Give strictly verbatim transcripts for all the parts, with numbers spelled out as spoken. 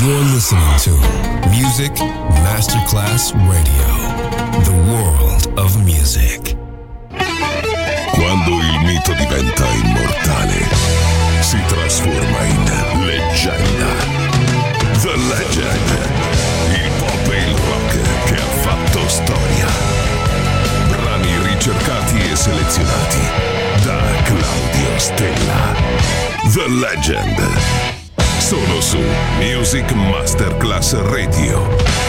You're listening to Music Masterclass Radio, the world of music. Quando il mito diventa immortale, si trasforma in leggenda. The Legend, il pop e il rock che ha fatto storia. Brani ricercati e selezionati da Claudio Stella. The Legend. Solo su Music Masterclass Radio.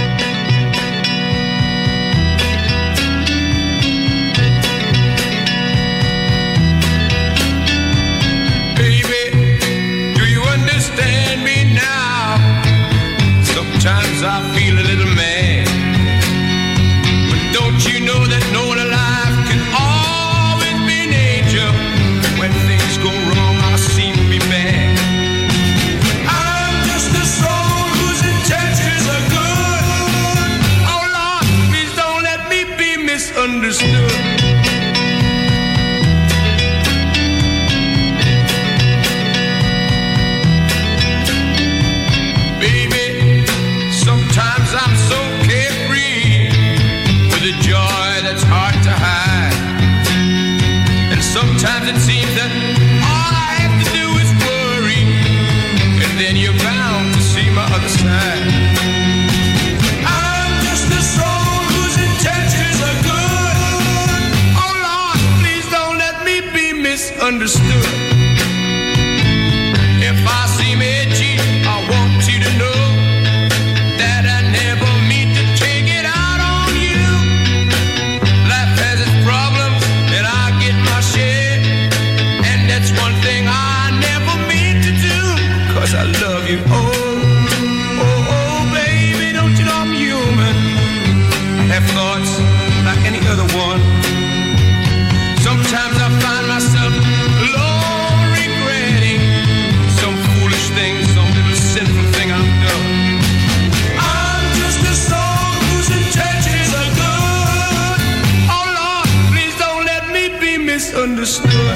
Sometimes I feel a little mad, but don't you know that no one alive can always be an angel? When things go wrong, I seem to be bad. I'm just a soul whose intentions are good. Oh Lord, please don't let me be misunderstood. I'm so carefree with a joy that's hard to hide. And sometimes it seems that all I have to do is worry, and then you're bound to see my other side. I'm just a soul whose intentions are good. Oh Lord, please don't let me be misunderstood. If I seem edgy, I want you to know that I never mean to take it out on you. Life has its problems and I get my share, and that's one thing I never mean to do, 'cause I love you. Oh, oh, oh, baby, don't you know I'm human? I have thoughts like any other one. Sometimes I find myself alone regretting some foolish thing, some little sinful thing I've done. Misunderstood.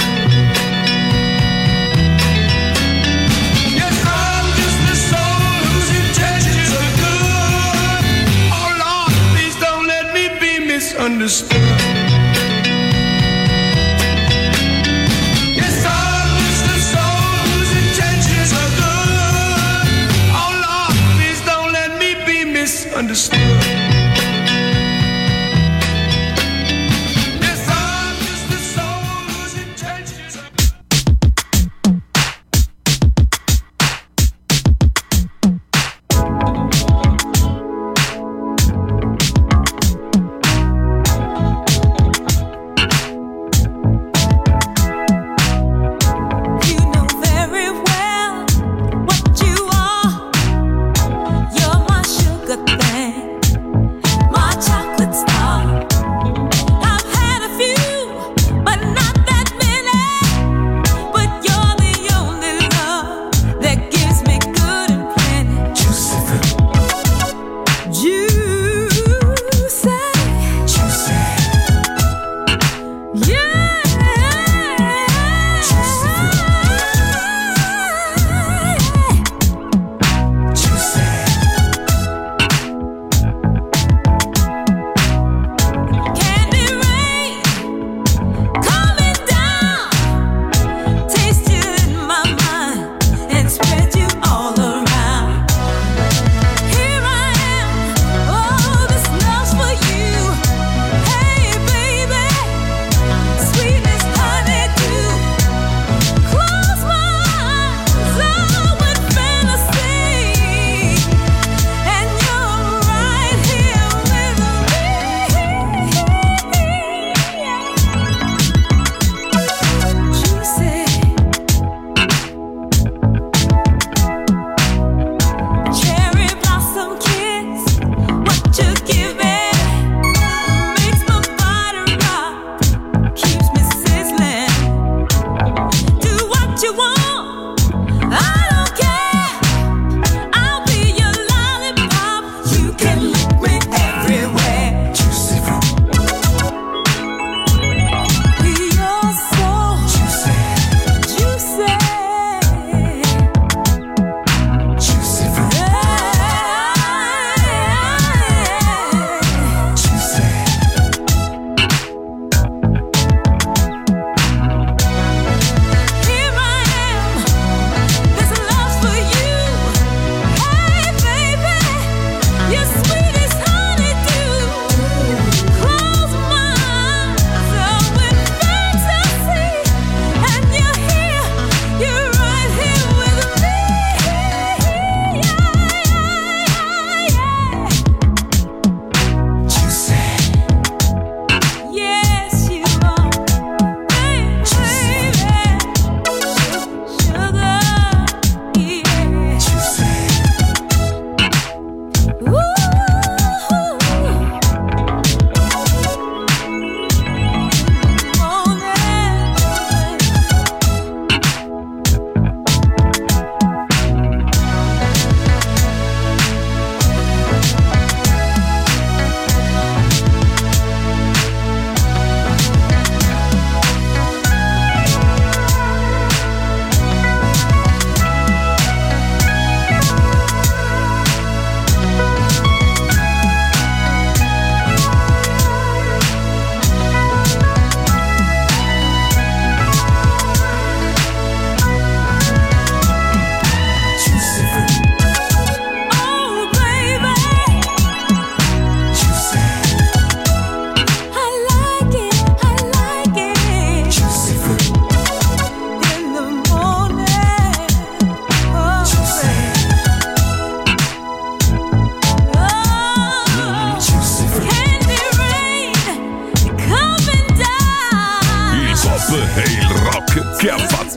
Yes, I'm just a soul whose intentions are good. Oh Lord, please don't let me be misunderstood. Yes, I'm just a soul whose intentions are good. Oh Lord, please don't let me be misunderstood. You're my sugar thing.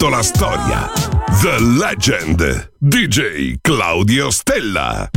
fatto la storia. The Legend, D J Claudio Stella.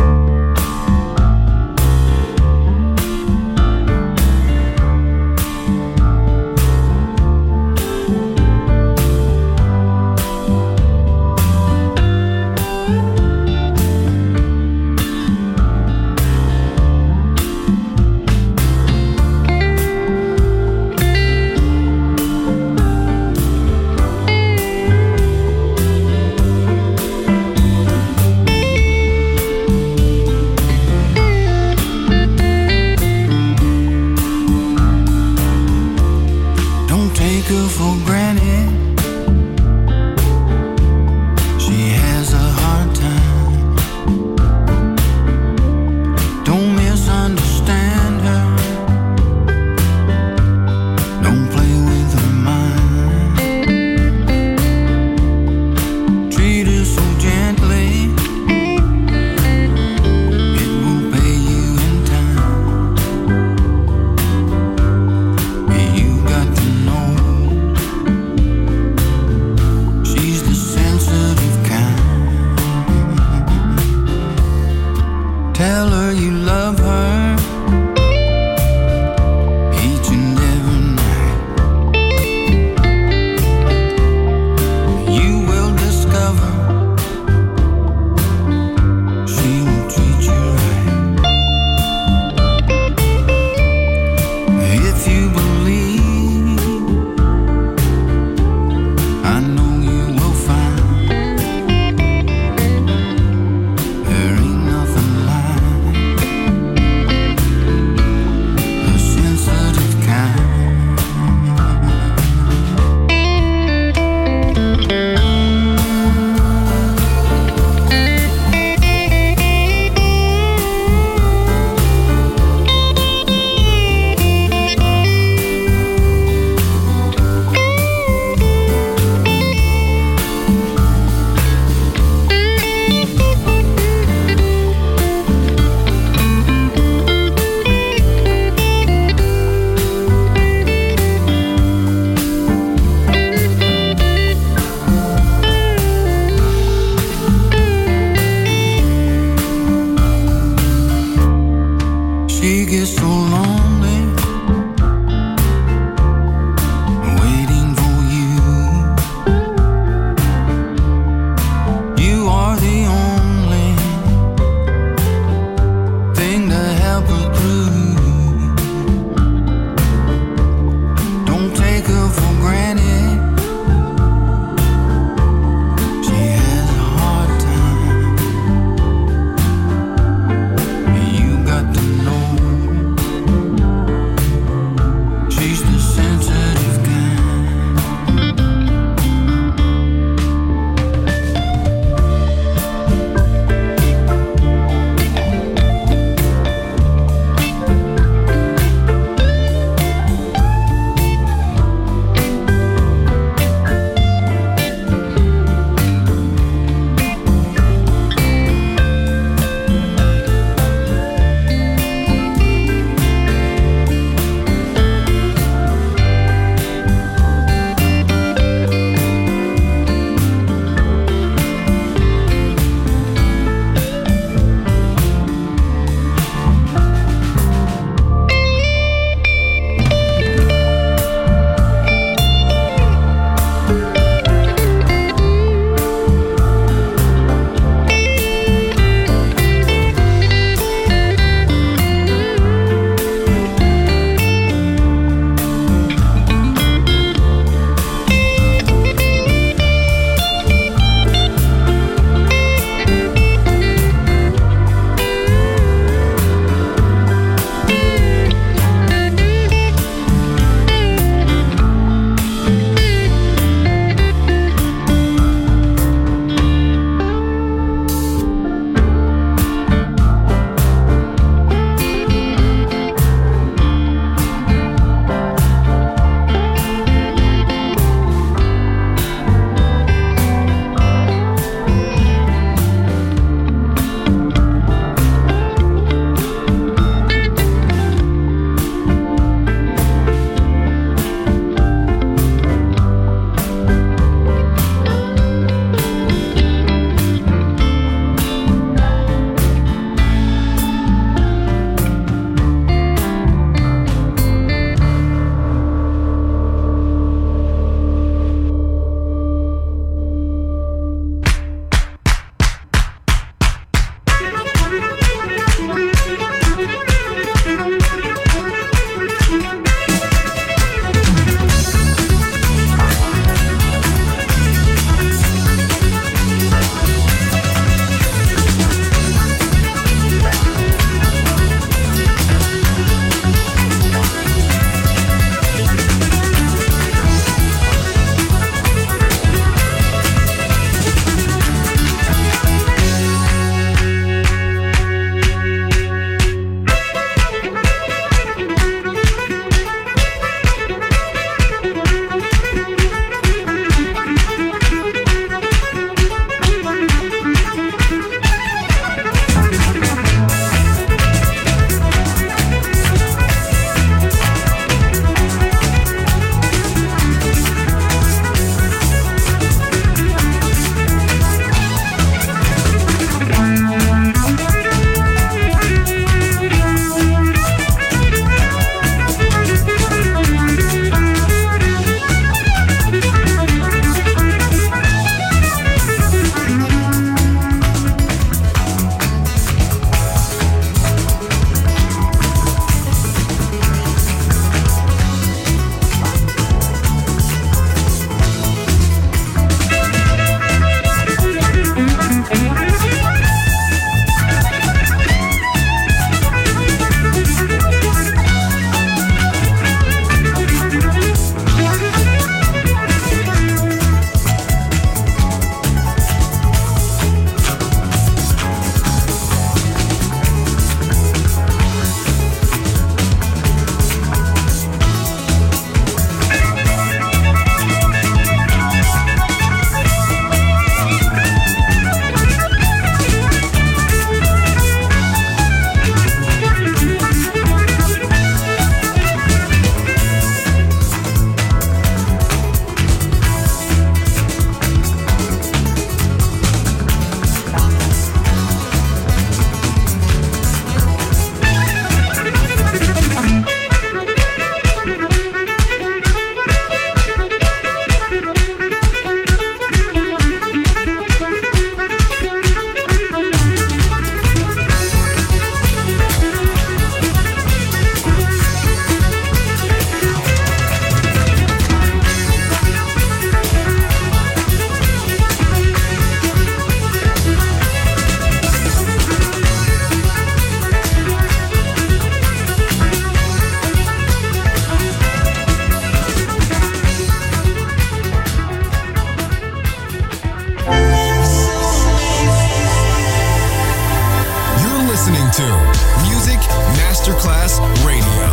to Music Masterclass Radio.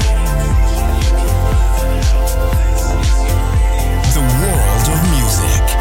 The world of music.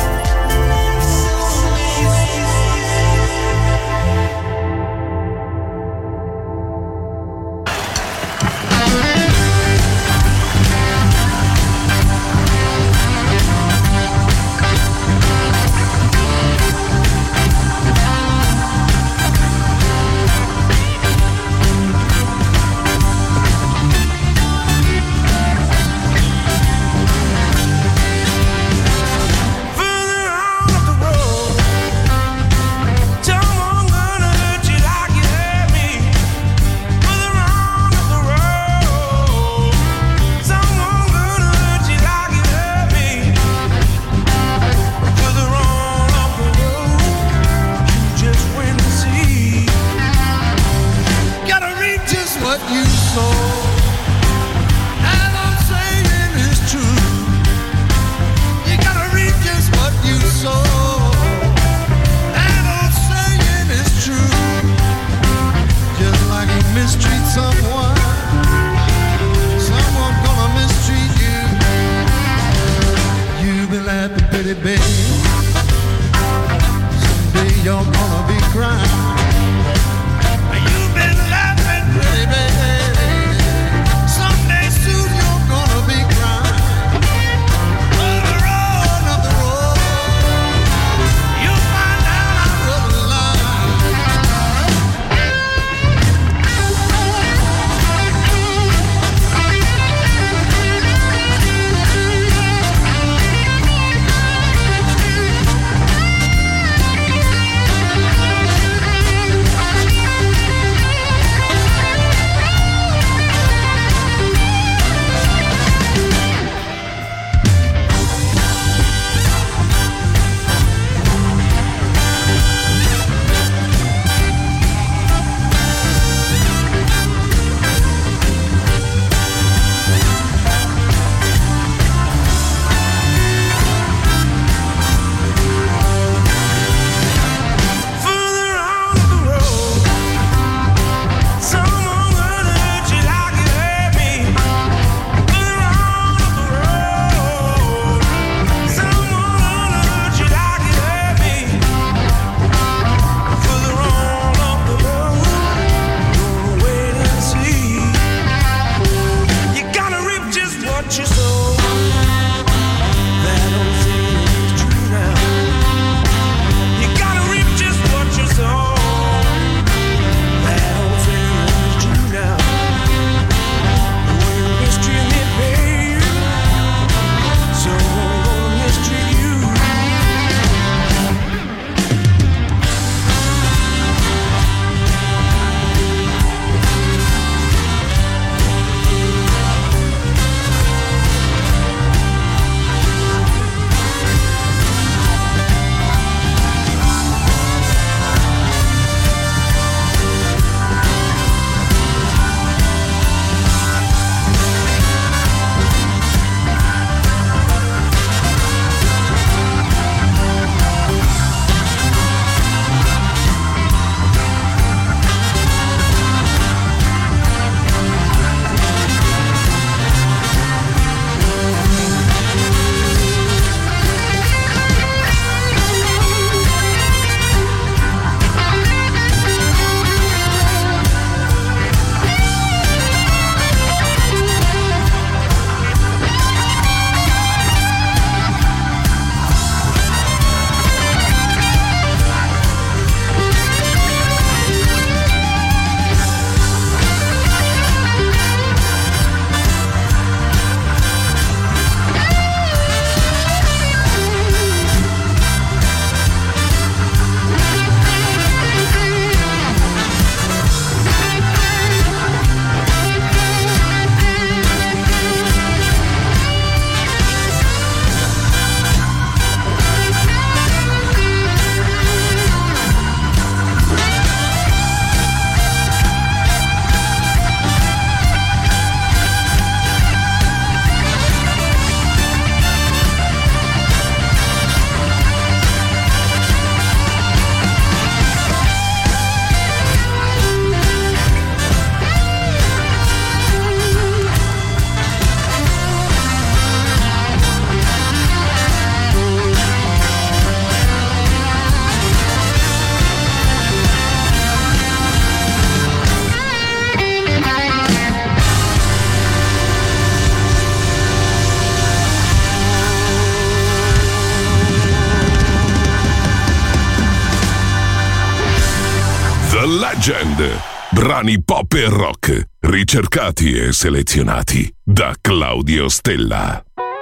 The Legend. Brani pop e rock, ricercati e selezionati da Claudio Stella.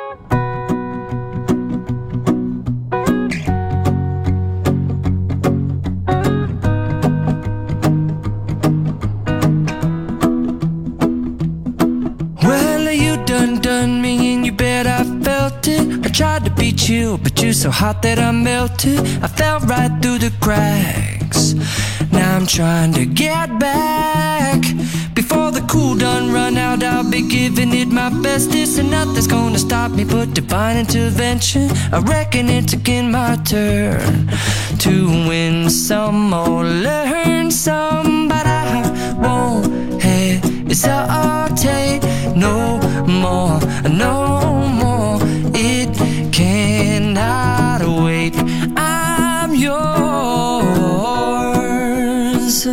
Tried to beat you, but you're so hot that I melted. I fell right through the cracks. Now I'm trying to get back. Before the cool done run out, I'll be giving it my best. This and nothing's gonna stop me but divine intervention. I reckon it's again my turn to win some or learn some, but I won't hesitate no more, no more. It cannot wait. I'm yours.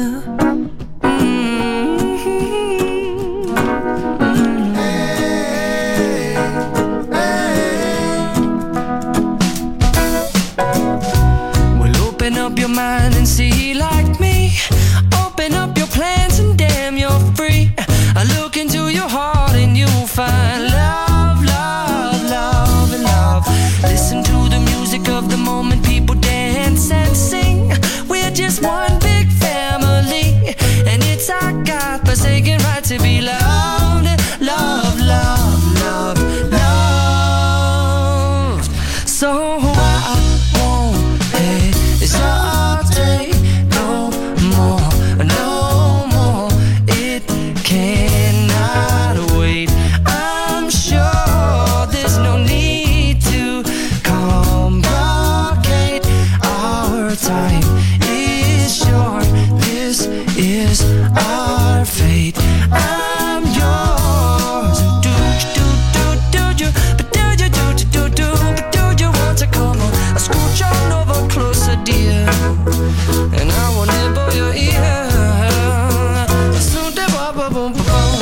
Well, open up your mind and see like me. Open up your plans and damn, you're free. I look into your heart and you'll find love, love, love, and love. Listen to the music of the moment, people dance and sing. We're just one big family, and it's our God-forsaken right to be loved, love, love, love, love. So I won't hesitate no more, no more. It cannot wait. I'm sure there's no need to complicate. Our time is short. This is our fate. I'm yours. Do do do do you, but do you do do do do, but do you want to come on? I scooch on over closer, dear, and I will nibble your ear. So da ba ba boom ba boom.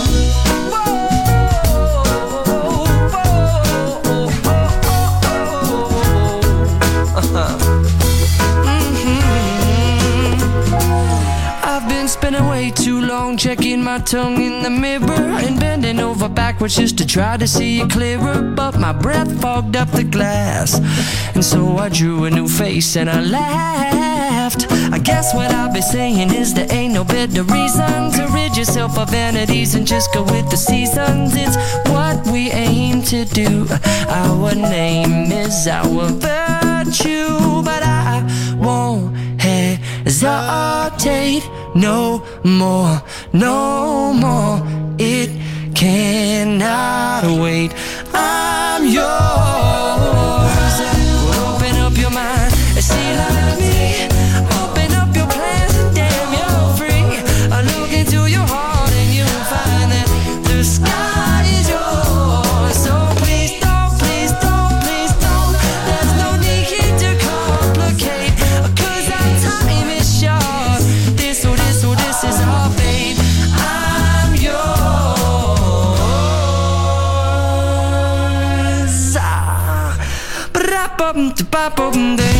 I've been spending way too long checking my tongue in the mirror and bending over backwards just to try to see it clearer, but my breath fogged up the glass, and so I drew a new face and I laughed. I guess what I'll be saying is there ain't no better reason to rid yourself of vanities and just go with the seasons. It's what we aim to do. Our name is our virtue, but I won't hesitate no more, no more. It cannot wait. I'm yours. Open up your mind and see like me. Open up your plans and damn, you're free. I look into your heart and you'll find that the sky is yours. So please don't, please don't, please don't. There's no need to complicate, 'cause our time is short. This, oh this, oh this is our fate. I'm yours. Ah. Ba-da-bum-da-ba-bum-ding.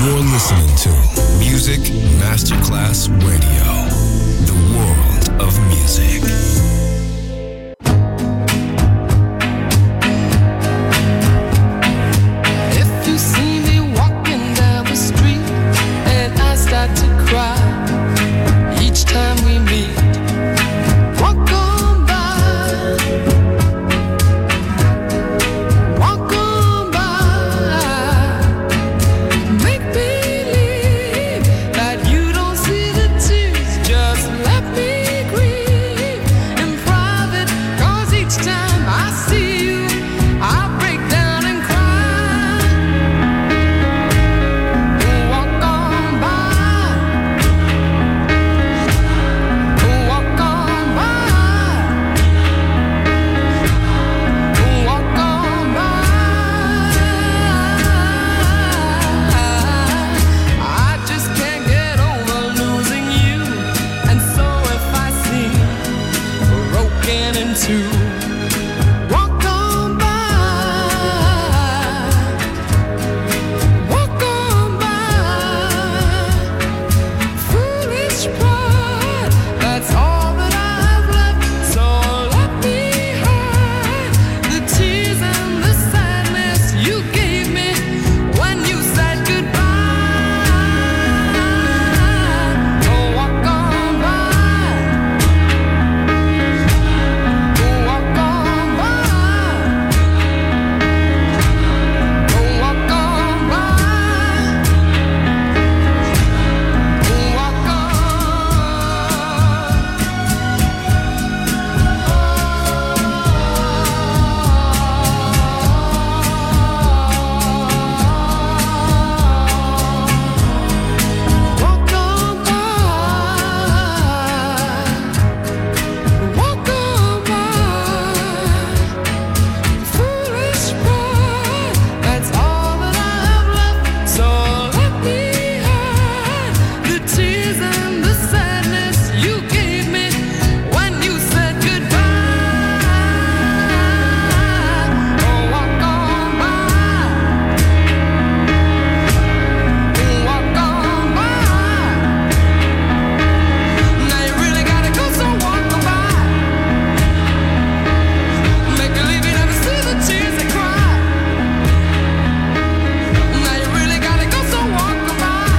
You're listening to Music Masterclass Radio, the world of music. If you see me walking down the street and I start to cry each time we meet, walk on by, walk on by, make believe that you don't see the tears, just let me grieve in private, 'cause each time I see you, I break down and cry. Walk on by, walk on by, walk on by. I just can't get over losing you, and so if I seem broken in two, walk on by, walk on by. Foolish pride, that's all that I have left. So let me hide the tears and the sadness you gave me when you said goodbye. Oh, walk on by, walk on by, oh, walk on by, walk Walk on by, walk on by. Foolish pride, that's all that I have left. So let me hide the tears and the sadness you gave me when you said goodbye. Oh, walk on by, walk on by. Now you really gotta go, so walk on by. Make believe you never see the tears that cry. Now you really gotta go, so walk on by.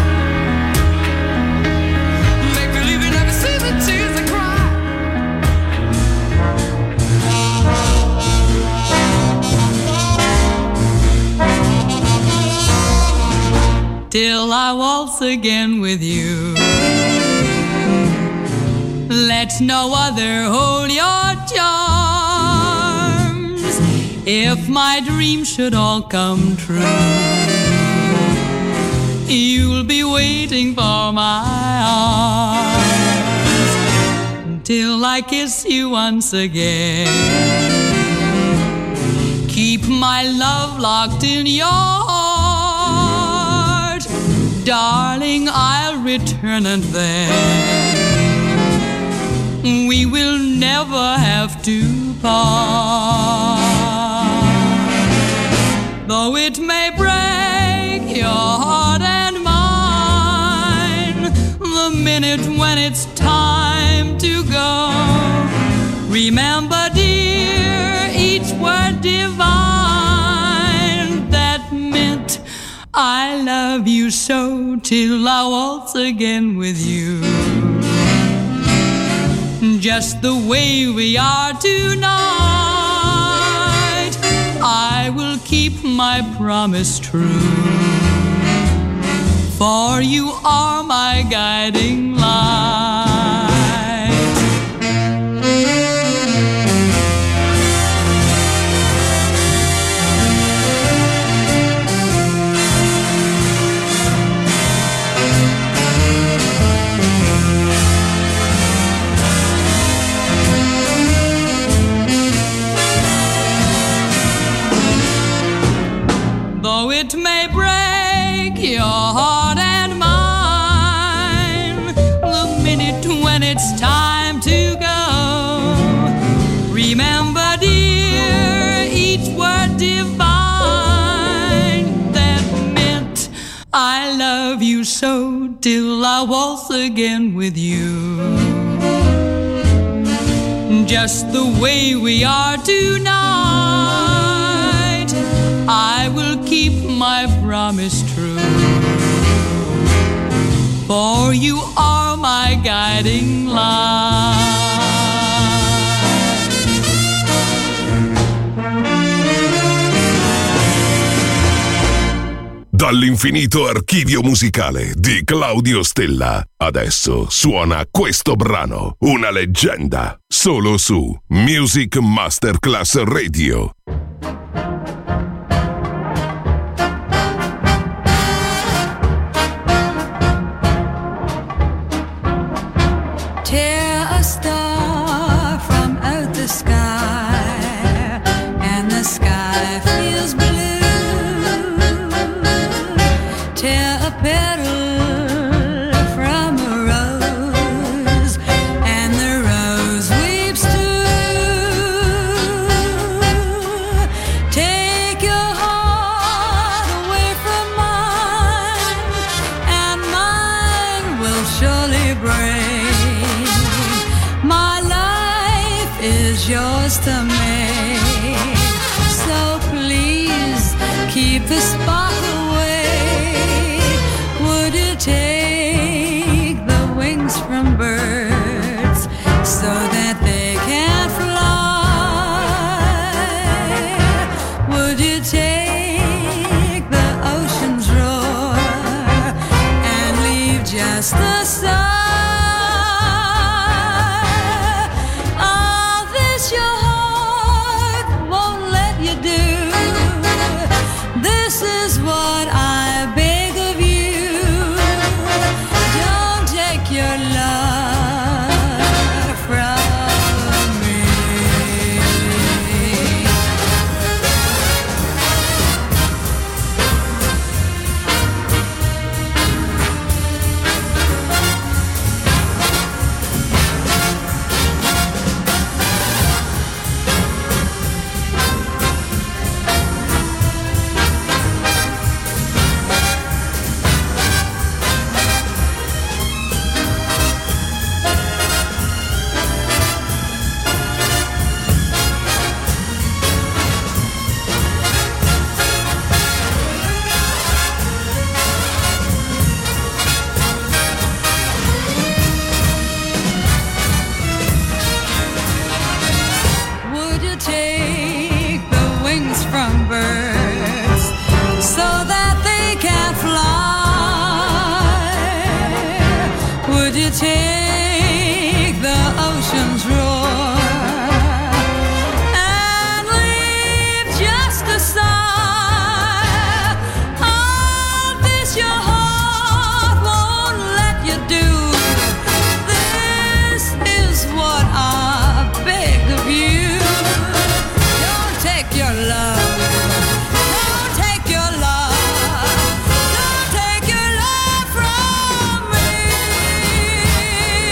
Make believe you never see the tears that cry. Till I waltz again with you. Let no other hold your charms. If my dreams should all come true, you'll be waiting for my arms till I kiss you once again. Keep my love locked in your heart, darling, I'll return, and then we will never have to part. Though it may break your heart and mine the minute when it's time to go, remember, dear, each word divine that meant I love you so till I waltz again with you. Just the way we are tonight, I will keep my promise true, for you are my guiding light. Though it may break your heart and mine the minute when it's time to go, remember, dear, each word divine that meant I love you so till I waltz again with you. Just the way we are tonight, I will keep my promise true. For you are my guiding light. Dall'infinito archivio musicale di Claudio Stella, adesso suona questo brano, una leggenda, solo su Music Masterclass Radio. Tear a star from out the sky, and the sky feels blue. Tear a petal from a rose, and the rose weeps too. Take your heart away from mine, and mine will surely break. My life is yours to make, so please keep the spark away. Would you take the wings from birds so that they can fly? Would you take the ocean's roar and leave just the sun? All this your heart won't let you do. This is what I beg of you. Don't take your love from me. Would you take the wings from birds so that they can fly? Would you take the ocean's roar and leave just a sigh? All this your heart won't let you do. This is what I beg of you. Don't take your love. Don't take your love. Don't take your love from me.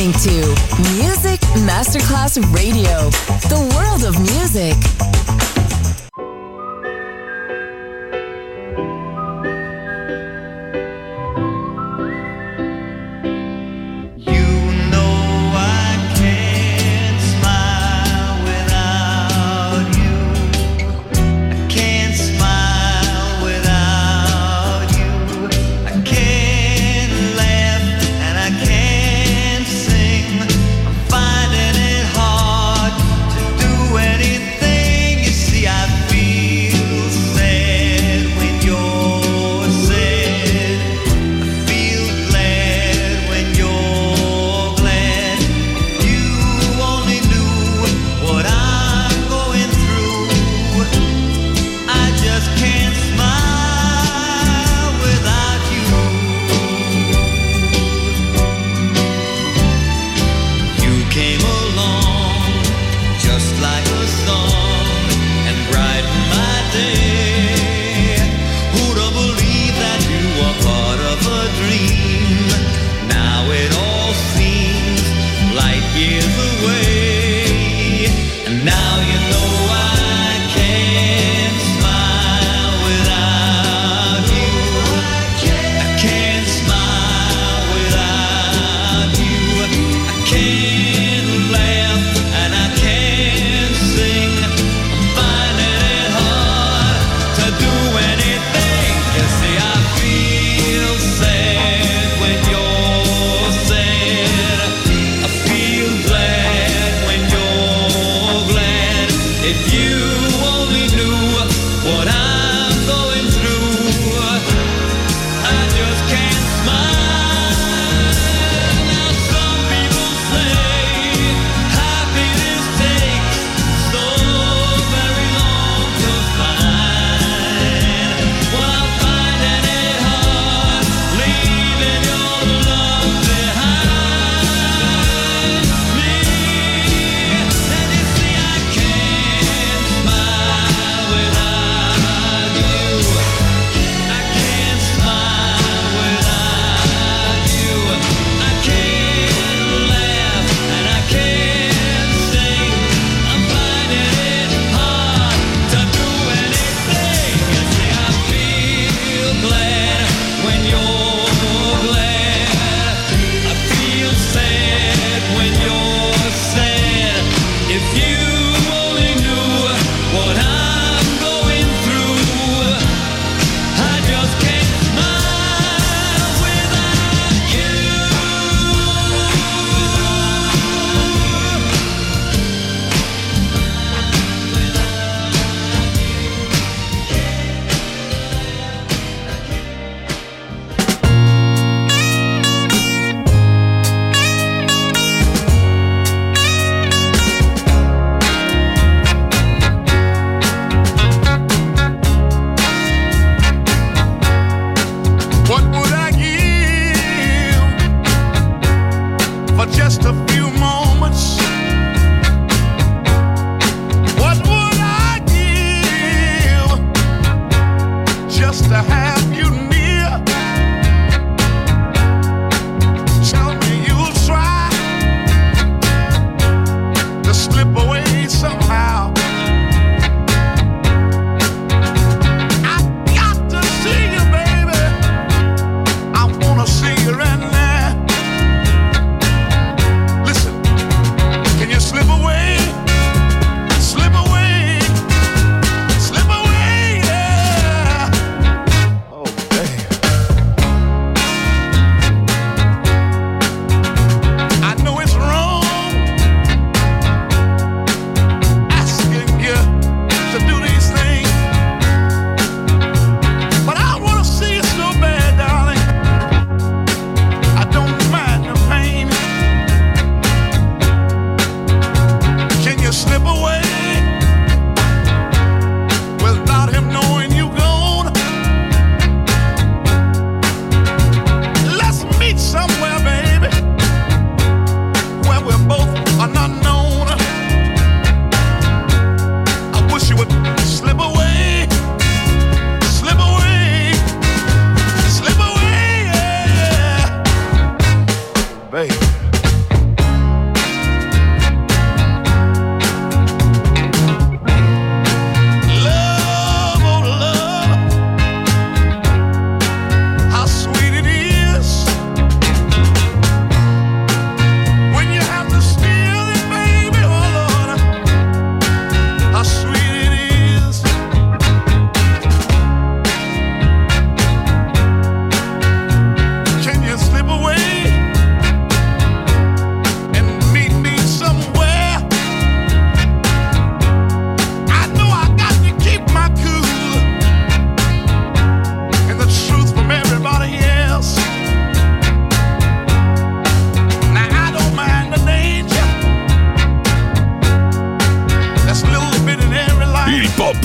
listening to Music Masterclass Radio, the world of music. Feel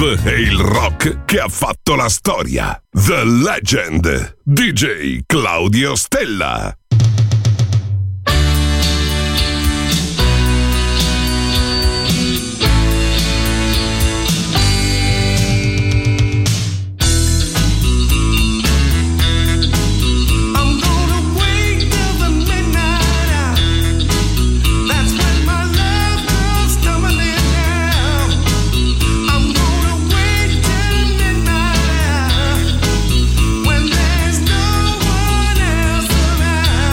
pop e il rock che ha fatto la storia. The Legend, D J Claudio Stella. When there's no one else around.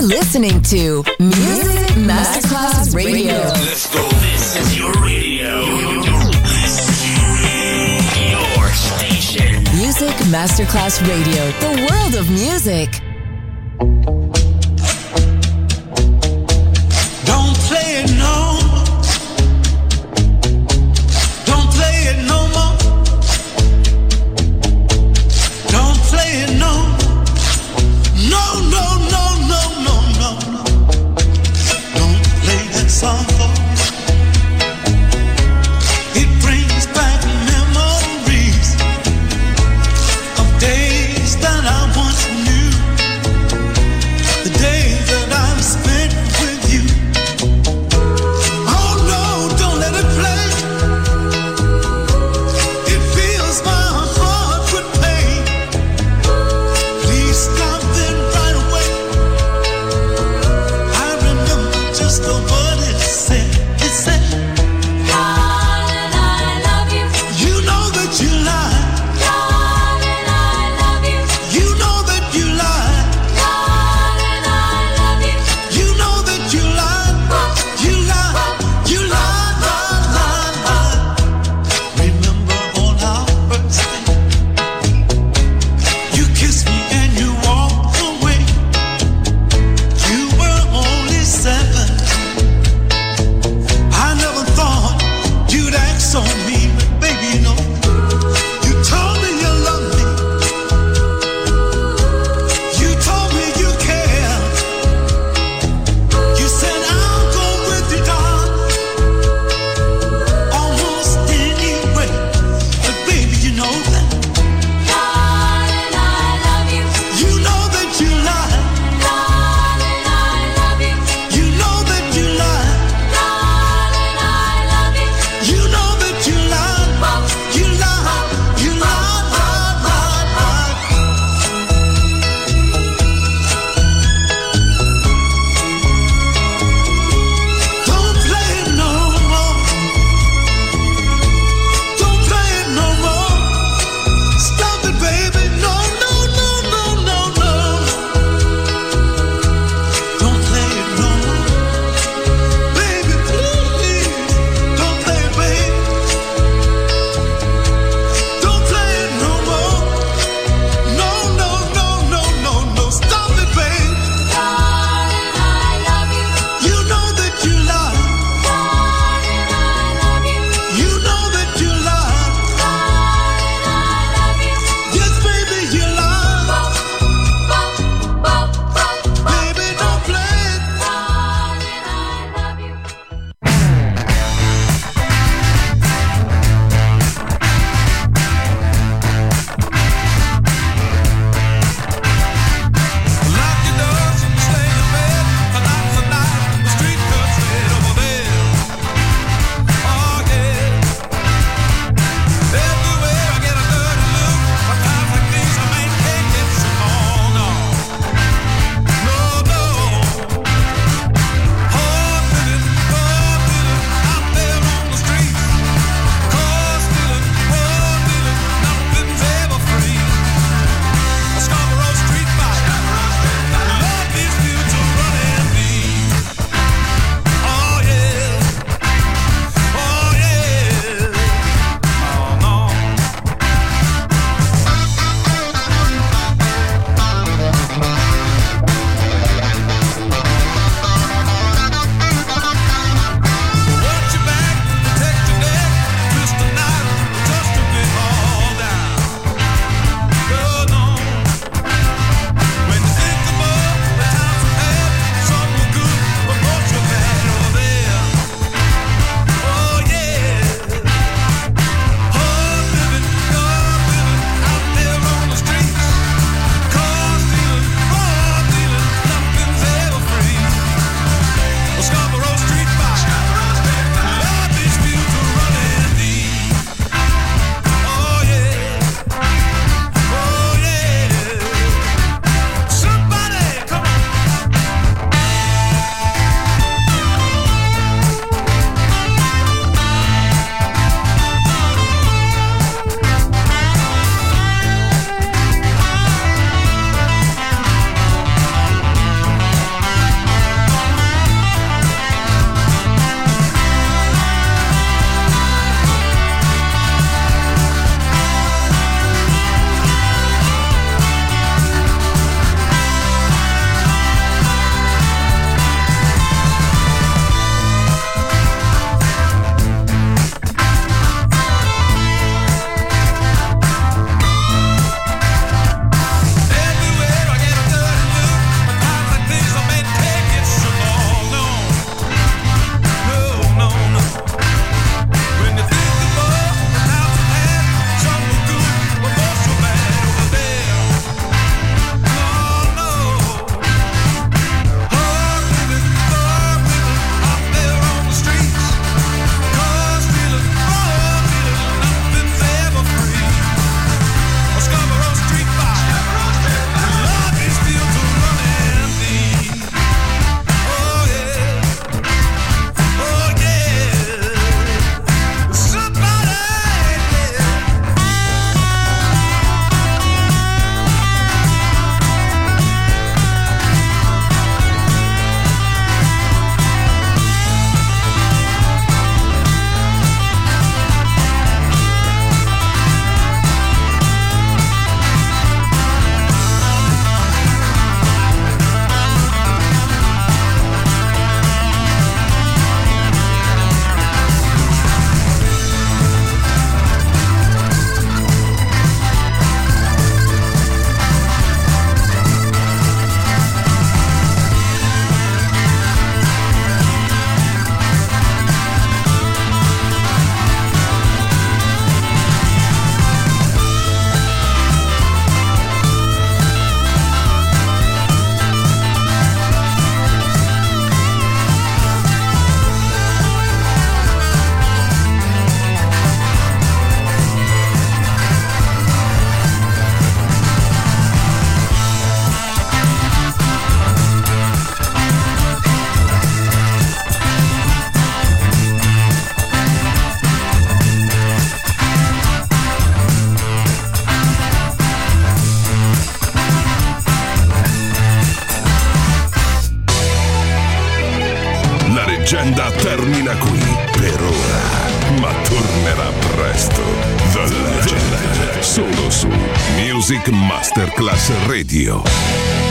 listening to Music Masterclass Radio. Let's go. This is your radio. Your station. Music Masterclass Radio. The world of music. Don't play it no more. Don't play it no more. Don't play it no more. No, no, no, no, no, no, no. Don't play that song for me. It brings back memories of days that I once knew. leggenda termina qui per ora, ma tornerà presto. The Legend, solo su Music Masterclass Radio.